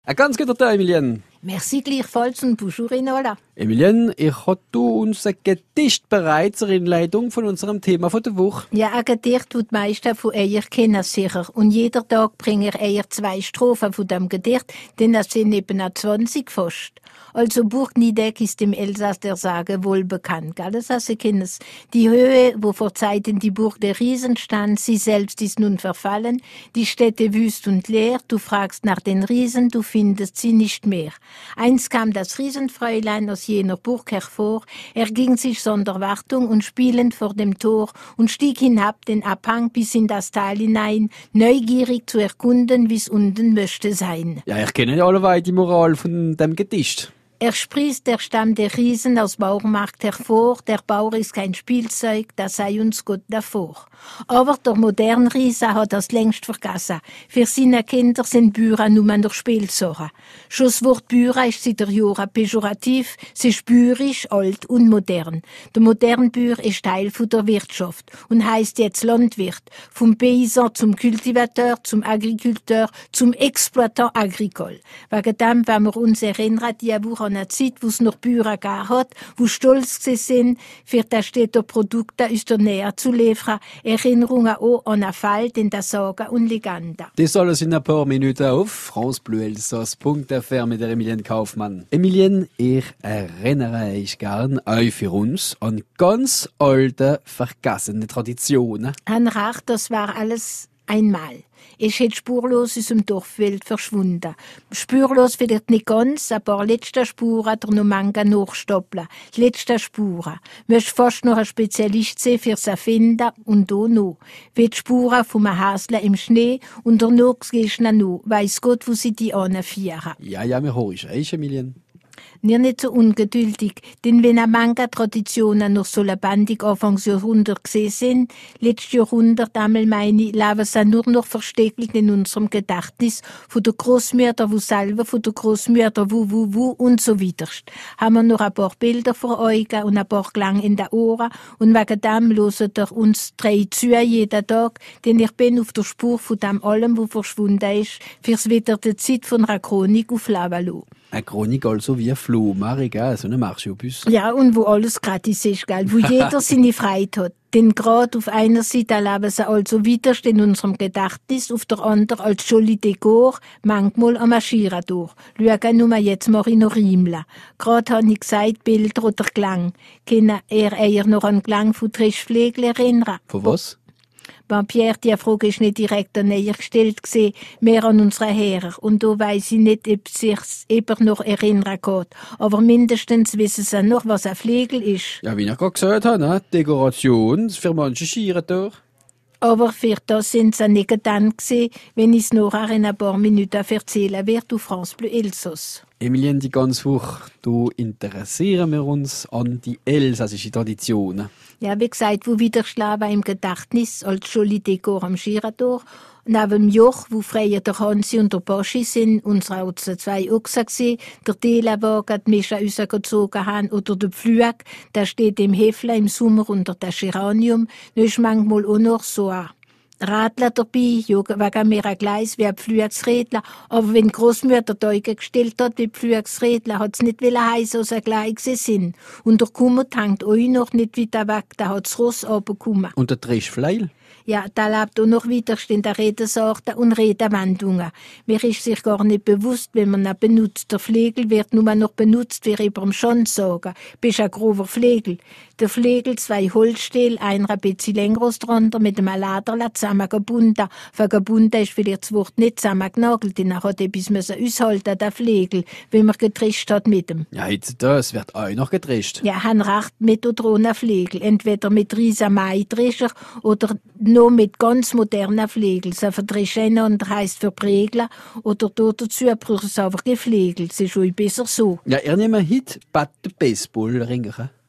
Ein ganz guter Tag, Emilienne. Merci gleichfalls und bonjour Inola. Emilienne, ich habe uns ein Gedicht bereit zur Einleitung von unserem Thema von der Woche. Ja, ein Gedicht, das die meisten von euch kennen sicher. Und jeder Tag bringe ich euch 2 Strophen von dem Gedicht, denn das sind eben auch 20 fast. Also Burg Niedeck ist im Elsass der Sage wohl bekannt, gell? Das heißt, ihr kennt es. Die Höhe, wo vor Zeiten die Burg der Riesen stand, sie selbst ist nun verfallen, die Städte wüst und leer, du fragst nach den Riesen, du findest sie nicht mehr. Einst kam das Riesenfräulein aus jener Burg hervor, erging sich sonder Wartung und spielend vor dem Tor und stieg hinab den Abhang bis in das Tal hinein, neugierig zu erkunden, wie's unten möchte sein. Ja, ich kenne ja alleweit die Moral von dem Gedicht. Er sprießt der Stamm der Riesen aus Baumarkt hervor, der Bauer ist kein Spielzeug, da sei uns Gott davor. Aber der moderne Riese hat das längst vergessen. Für seine Kinder sind Bücher nur noch Spielsachen. Schon das Wort Bücher ist seit der Jahren pejorativ, sie ist bürisch, alt und modern. Der moderne Bauer ist Teil von der Wirtschaft und heisst jetzt Landwirt. Vom Paysan zum Kultivateur, zum Agriculteur, zum Exploitant agricole. Wegen dem, wenn wir uns erinnern, die Woche an eine Zeit, wo es noch Bauern gegeben hat, wo stolz sind, für das städter Produkte aus der Nähe zu liefern, Erinnerungen auch an einen Fall in der Sagen und Legende. Das alles in ein paar Minuten auf francebleuelsass.fr mit der Emilienne Kaufmann. Emilienne, ich erinnere euch gern euch für uns an ganz alte, vergessene Traditionen. Ein Recht, das war alles einmal. Es ist spurlos aus dem Dorfwelt verschwunden. Spurlos vielleicht nicht ganz, ein paar letzte Spuren der noch manga nachstoppeln. Letzte Spuren. Möcht fast noch ein Spezialist sein fürs Erfinden und da noch. Wie die Spuren vom Hasler im Schnee und danach gehst du noch. Weiss Gott, wo sie die anführen. Ja, wir hören euch, Emilienne. Nicht so ungeduldig, denn wenn manga Traditionen noch so lebendig Anfangs Jahrhundert gesehen sind, letztes Jahrhundert einmal meine ich, leben sie nur noch versteckelt in unserem Gedächtnis von der Großmütter, wo selber von der Großmütter, wo und so weiter. Haben wir noch ein paar Bilder vor Augen und ein paar Klang in den Ohren und wegen dem hören ihr uns 3 zu jeden Tag, denn ich bin auf der Spur von dem allem, wo verschwunden ist, fürs wieder die Zeit von einer Chronik aufleben lassen. Eine Chronik also wie ein Flohmarkt, gell? So eine Marschobus. Ja, und wo alles gratis ist, gell? Wo jeder seine Freiheit hat. Denn gerade auf einer Seite erleben sie also widerst in unserem Gedächtnis, auf der anderen als Joli Dekor, manchmal am Marschieren durch. Schauen nur jetzt mal in Riemla. Gerade habe ich gesagt, Bilder oder Klang. Können ihr eher noch an Klang von Trischpflegel erinnern? Von was? Pierre, die Frage ist nicht direkt an ihr gestellt gewesen, mehr an unsere Herren. Und da weiss ich nicht, ob sich's eben noch erinnern geht. Aber mindestens wissen sie noch, was ein Flegel ist. Ja, wie ich gerade gesagt habe, ne? Dekoration für manche Schieren durch. Aber für das sind sie nicht dann gewesen, wenn ich es nachher in ein paar Minuten erzählen werde auf France Bleu Elsass. Emilienne, die ganze Woche, du interessieren wir uns an die elsassischen Traditionen. Ja, wie gesagt, wo Widerschlagen im Gedächtnis als Joli Dekor am Girador. Neben dem Joch, wo früher der Hansi und der Boschi sind, unsere auch 2 Ochsen gewesen, der Telewagen, die Mischa rausgezogen haben, oder der Pflug, der steht im Hefle im Sommer unter dem Geranium. Da ist manchmal auch noch so ein Radler dabei, wegen mir ein Gleis wie ein Pflugsrädler. Aber wenn die Großmutter Teuge gestellt hat wie Pflugsrädler, hat es nicht heißen, dass sie gleich sind. Und der Kummert hängt euch noch nicht wieder weg, da hat das Ross runtergekommen. Und der Trischfleil? Ja, da lebt auch noch wieder in der Redensarten und Redewendungen. Mir ist sich gar nicht bewusst, wenn man ihn benutzt. Der Flegel wird nur noch benutzt, wie über dem Schwanz sagen. Bist ein grober Flegel. Der Flegel, 2 Holzstähle, einer ein bisschen länger als der andere, mit einem Lederle zusammengebunden. Vergebunden ist vielleicht das Wort nicht zusammengenagelt, denn er hat etwas aushalten, der Flegel, wenn man getrischt hat mit ihm. Ja, jetzt das wird auch noch getrischt. Ja, han recht mit oder ohne Flegel. Entweder mit riesen Maitrischer oder nur mit ganz modernen Flegel. So verdrischen und heisst verbregeln oder dazu braucht es einfach Geflegel. Das ist schon besser so. Ja, ihr nehmt heute Bad Baseball ringen.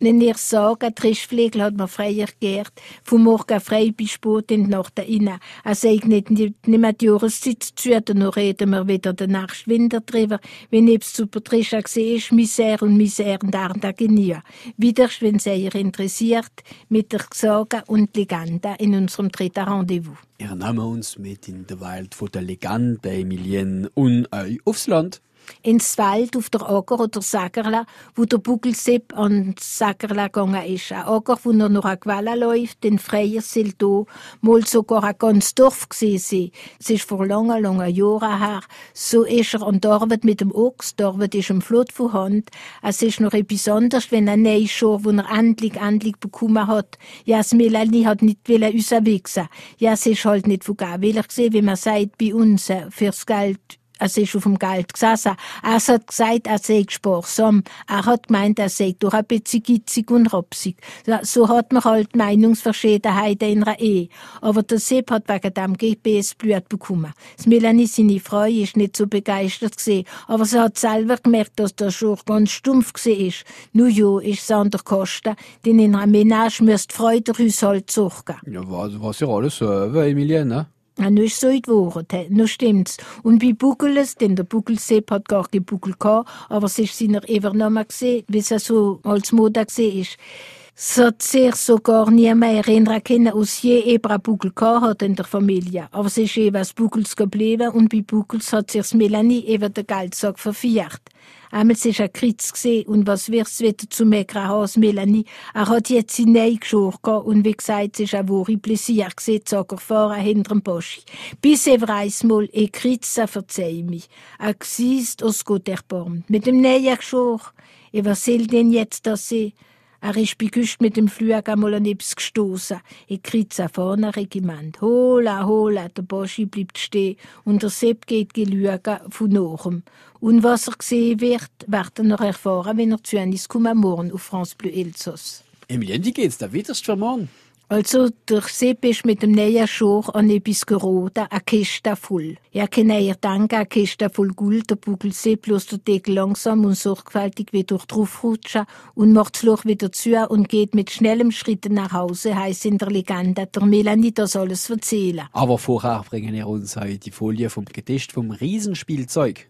Wenn ihr sagt, ein Trischflegel hat man freier geehrt, vom Morgen frei bis spät in die Nacht rein. Er sagt nicht mehr die Jahreszeit zu, dann reden wir wieder den nächsten Winter drüber. Wenn ich zu Patricia gesehen ist, Misère und Ardagenie. Wieder, wenn es euch interessiert, mit der Sage und Legende in unserem dritten Rendezvous. Wir nehmen uns mit in die Welt von der Legende bei Emilien und aufs Land. Ins Wald auf der Acker oder Sagerla, wo der Bugelsepp an Sagerla gegangen ist. Ein Acker, wo er noch eine Quelle läuft, den Freier soll da mal sogar ein ganzes Dorf gesehen sein. Es ist vor langen Jahren her. So ist er an der Arbeit mit dem Ochs, die Arbeit ist im Flot von Hand. Es ist noch etwas anderes, wenn ein Neuschor, wo er endlich bekommen hat. Ja, das Melanie hat nicht rauswichsen. Ja, es ist halt nicht von Geld gesehen, wie man sagt, bei uns, fürs Geld. Er ist auf dem Geld gesessen. Er hat gesagt, er sei sparsam. Er hat gemeint, er sei doch ein bisschen gitzig und rapsig. So hat man halt Meinungsverschiedenheiten in einer Ehe. Aber der Sepp hat wegen dem GPS-Blut bekommen. Das Melanie, seine Frau, ist nicht so begeistert gewesen. Aber sie hat selber gemerkt, dass der Schur ganz stumpf gewesen ist. Nun ja, ist es an der Kosten, denn in einer Menage müsste die Frau der Haushalt sorgen. Ja, was ja alles so, Emilien, ne? Ja, nu ist so geworden, nu stimmt's. Und bei Bugeles, denn der Bugelsepp hat gar kein Bugel gehabt, aber es ist seiner übernommen gesehen, wie es so als Mode gesehen ist. Es hat sich sogar nie mehr erinnern können, aus je eben ein Bugel gehabt hat in der Familie. Aber es ist eben was Bugels geblieben und bei Bugels hat sich Melanie eben der Geldsack verfehlt. Einmal war ein Kritz gesehen und was wirst wieder zu meckern haben, Melanie. Er hat jetzt seine Nähe geschoren und wie gesagt, es war ein wahre Pläsier gesehen, zu fahren hinter dem Boschi. Bis er einmal ein Kritz verzeih mich. Er gesiest aus Gott erbarmt. Mit dem Nähe geschoren. Was soll denn jetzt das sein? Er ist bei Güst mit dem Flug einmal an etwas gestossen. Ich krieg's vorne Regiment. Hola, der Boschi bleibt stehen und der Sepp geht gelügen von nachem. Und was er gesehen wird er noch erfahren, wenn er zu uns kommt morgen auf France Bleu Elsass. Emilien, wie geht's da wieder für morgen? Also, der Sepp ist mit dem neuen Schor an etwas geraten, eine Kiste voll. Ja, kann ihr denken, eine Kiste voll Gold, der Bugelsepp lässt den Deckel langsam und sorgfältig wieder draufrutschen und macht das Loch wieder zu und geht mit schnellem Schritt nach Hause, heisst in der Legende, der Melanie das alles erzählen. Aber vorher bringen wir uns heute die Folie vom Gedicht vom Riesenspielzeug.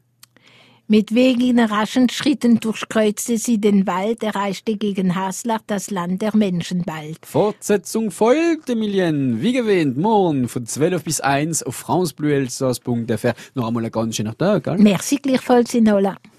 Mit wenigen raschen Schritten durchkreuzte sie den Wald, erreichte gegen Haslach das Land der Menschen bald. Fortsetzung folgt, Emilien. Wie gewähnt, morgen von 12 bis 1 auf francebleuelsass.fr. Noch einmal ein ganz schöner Tag, gell? Merci gleichfalls, Inola.